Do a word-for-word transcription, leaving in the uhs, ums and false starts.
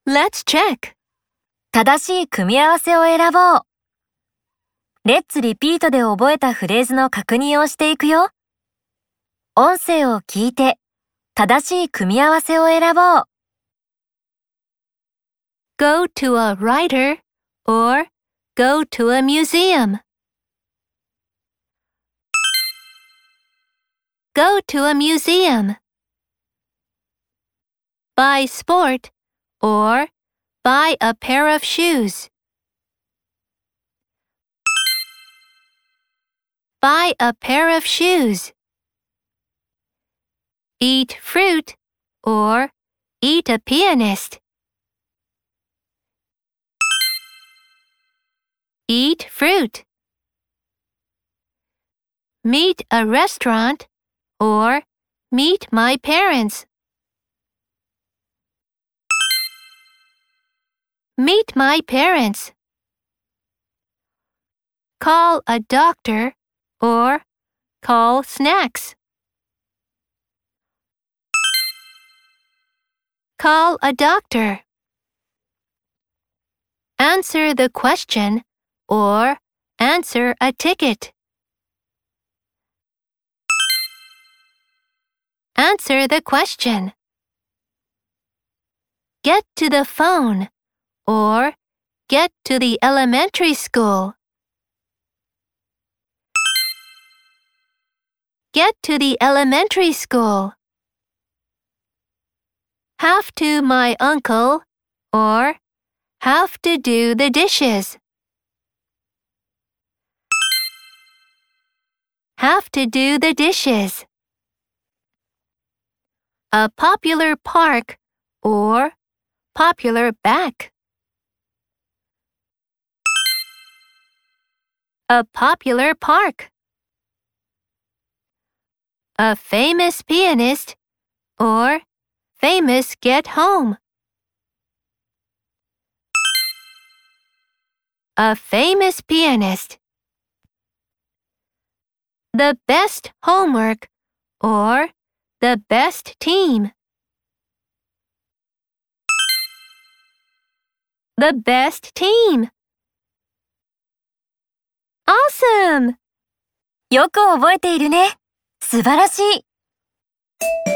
Let's check. 正しい組み合わせを選ぼう。Let's repeat で覚えたフレーズの確認をしていくよ。音声を聞いて、正しい組み合わせを選ぼう。 Go to a writer or go to a museum. Go to a museum. Buy sport or buy a pair of shoes. Buy a pair of shoes. Eat fruit or eat a pianist. Eat fruit. Meet a restaurant or meet my parents. Meet my parents. Call a doctor or call snacks. Call a doctor. Answer the question or answer a ticket. Answer the question. Get to the phone or get to the elementary school. Get to the elementary school. Have to my uncle or have to do the dishes. Have to do the dishes. A popular park or popular back. A popular park. A famous pianist or famous get home. A famous pianist. The best homework or the best team. The best team. Awesome! よく覚えているね。素晴らしい。